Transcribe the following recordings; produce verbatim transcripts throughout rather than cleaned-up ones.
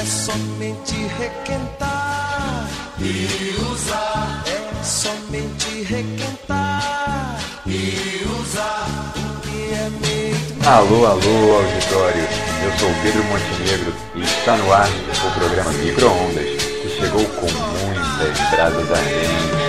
somente requentar e usar. É somente requentar e usar. O que é meio... Alô, alô, auditório. Eu sou o Pedro Montenegro e está no ar o programa Micro-Ondas, que chegou com muitas brasas ardentes.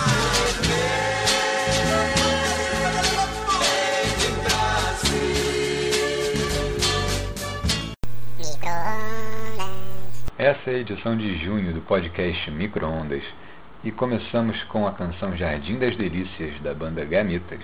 Essa é a edição de junho do podcast Micro-Ondas e começamos com a canção Jardim das Delícias da banda Gamitas.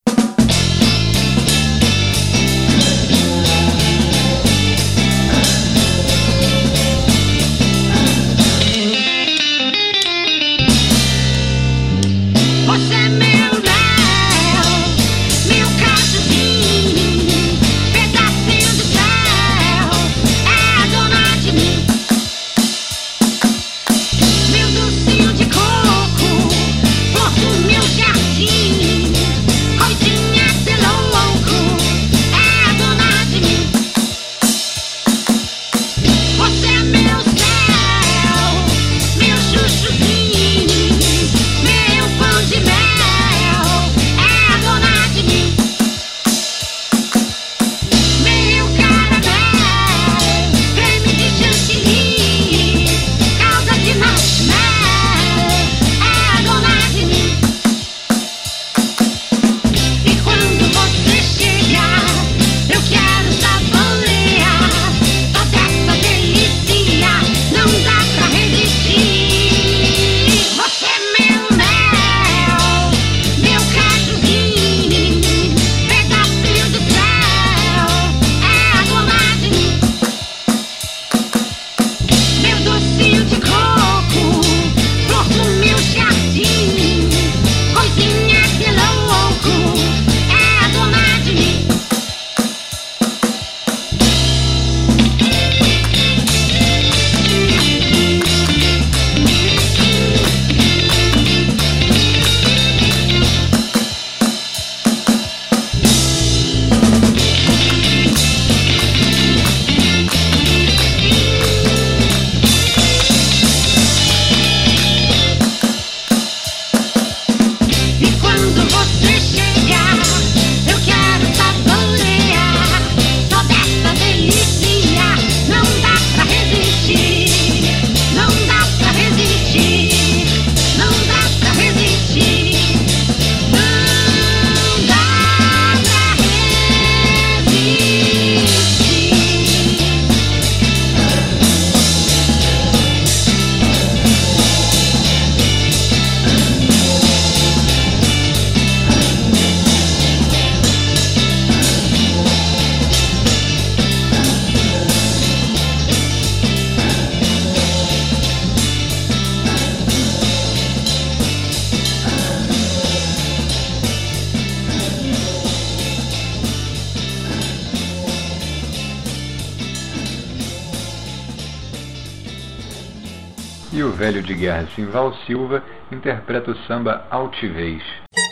E o velho de guerra Simval Silva interpreta o samba Altivez.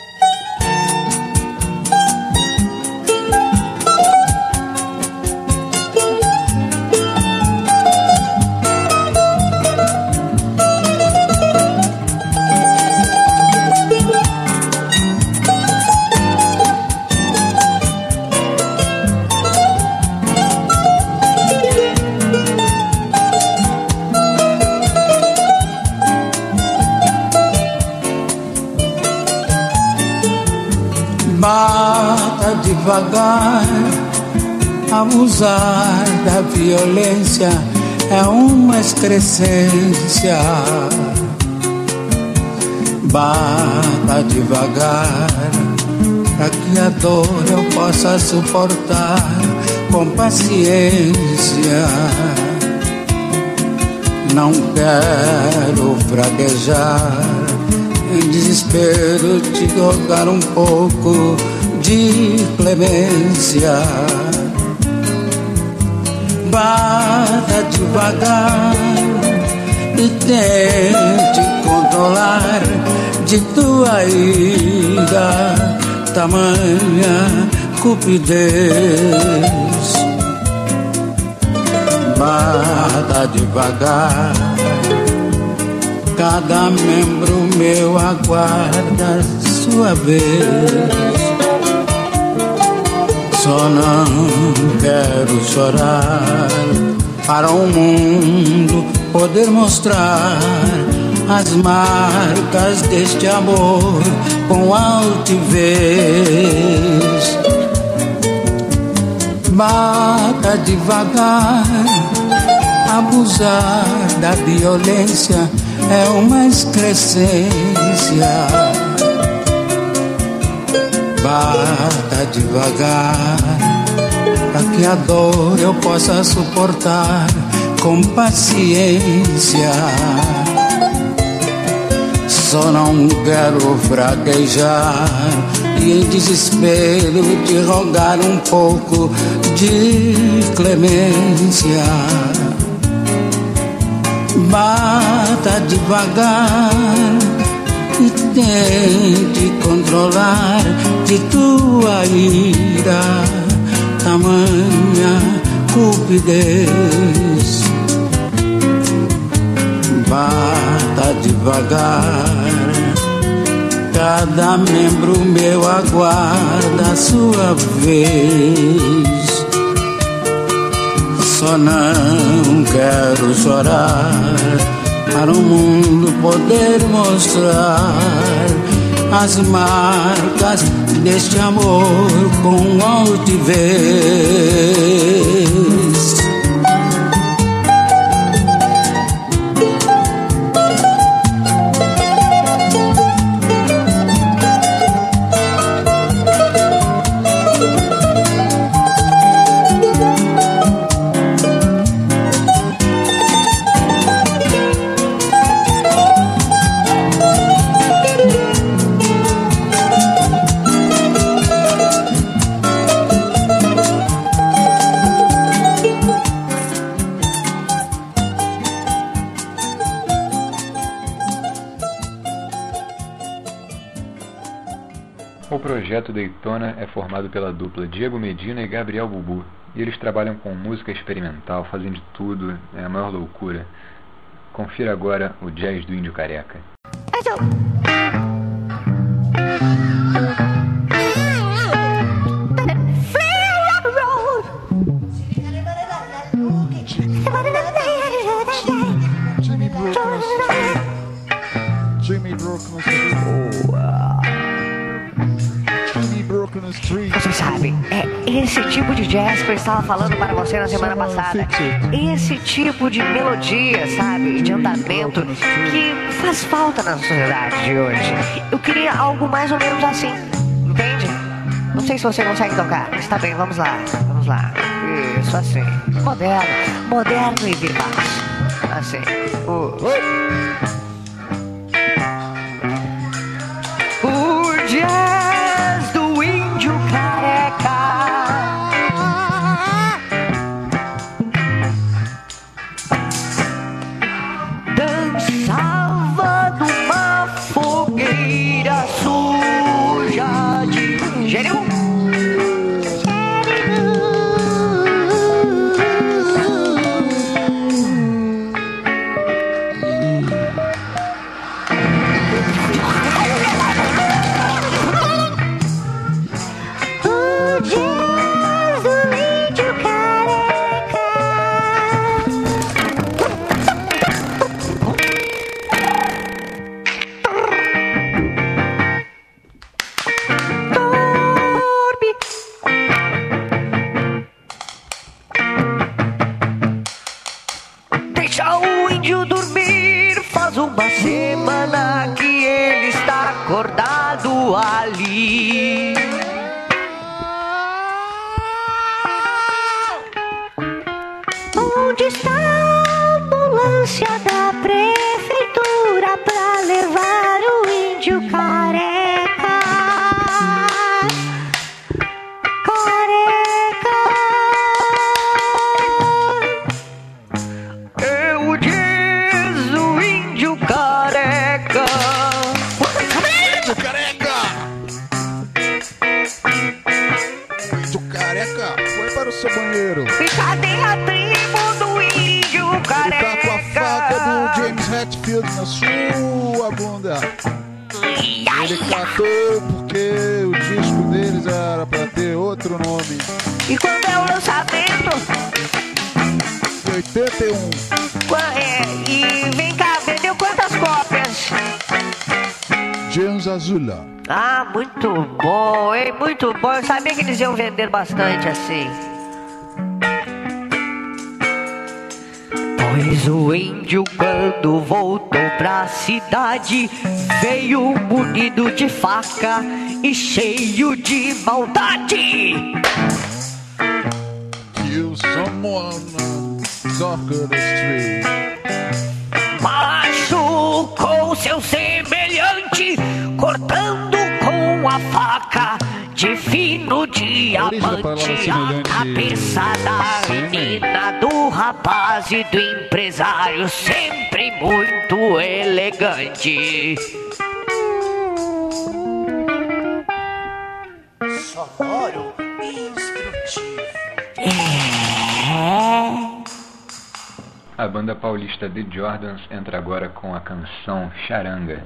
Bata devagar, abusar da violência é uma excrescência. Bata devagar, para que a dor eu possa suportar com paciência. Não quero fraquejar, em desespero te rogar um pouco de clemência. Bata devagar e tente controlar de tua ira tamanha cupidez. bata devagar. Cada membro meu aguarda sua vez. Só não quero chorar para o mundo poder mostrar as marcas deste amor com altivez. Bata devagar, abusar da violência é uma excrescência. Bata devagar, para que a dor eu possa suportar com paciência. Só não quero fraquejar e em desespero te rogar um pouco de clemência. Bata devagar e tente controlar de tua ira tamanha cupidez. Bata devagar, cada membro meu aguarda a sua vez. Só não quero chorar para o mundo poder mostrar as marcas deste amor com altivez. O Projeto Daytona é formado pela dupla Diego Medina e Gabriel Bubu, e eles trabalham com música experimental, fazem de tudo, é a maior loucura. Confira agora o Jazz do Índio Careca. Você sabe, é esse tipo de jazz que eu estava falando para você na semana passada. Esse tipo de melodia, sabe, de andamento que faz falta na sociedade de hoje. Eu queria algo mais ou menos assim, entende? Não sei se você consegue tocar, mas tá bem, vamos lá, vamos lá. Isso, assim, moderno, moderno e vivaz. Assim, o... O jazz do Índio Careca. Dançava numa fogueira suja de gênio. na sua bunda. Ele catou porque o disco deles era pra ter outro nome. E quando é o lançamento? oitenta e um. É, e vem cá, vendeu quantas cópias? James Azula. Ah, muito bom, hein? Muito bom. Eu sabia que eles iam vender bastante assim. Pois o índio, quando voltou pra cidade, veio munido de faca e cheio de maldade. Kill someone on the street. Machucou seu semelhante, cortando com a faca de fino diamante a cabeça da menina, do rapaz e do empresário, sempre muito elegante. Sonoro e instrutivo. É. A banda paulista The Jordans entra agora com a canção Charanga.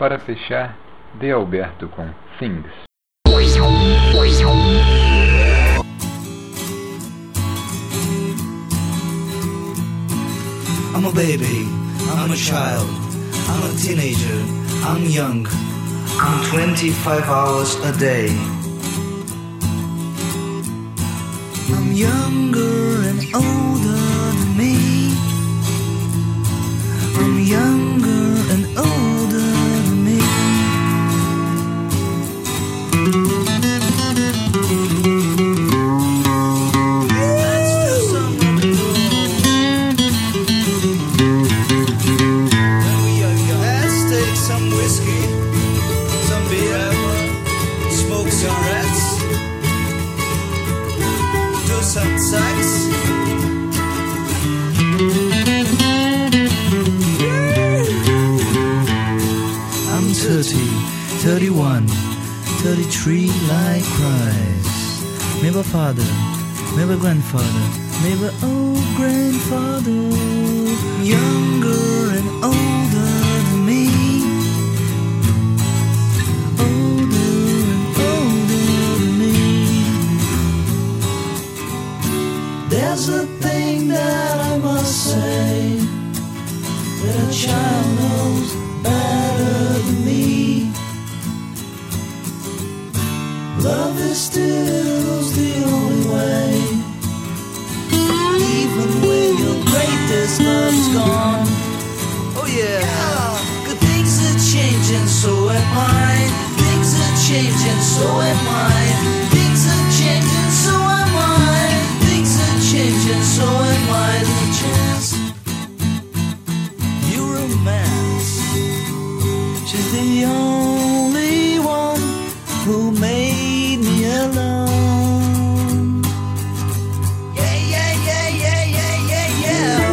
Para fechar, De Alberto com Things. I'm a baby, I'm a child, I'm a teenager, I'm young, I'm twenty-five hours a day. I'm younger and older than me. I'm younger and older than me. Let's do some rock and roll. When we are young, let's take some whiskey, some beer, smoke cigarettes, do some sex. I'm thirty, thirty-one, thirty-three like Christ. Maybe father, maybe grandfather, maybe old grandfather. Younger and older than me. Older and older than me. There's a thing that I must say, that a child knows better than me. Love is still the only way. Even when your greatest love's gone. Oh yeah, good things are changing, so am I. Things are changing, so am I. Things are changing, so am I. Things are changing, so am I. The chance, you romance. She's the only one who made me alone. Yeah, yeah, yeah, yeah, yeah, yeah, yeah.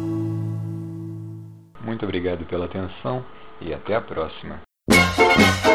Muito obrigado pela atenção e até a próxima.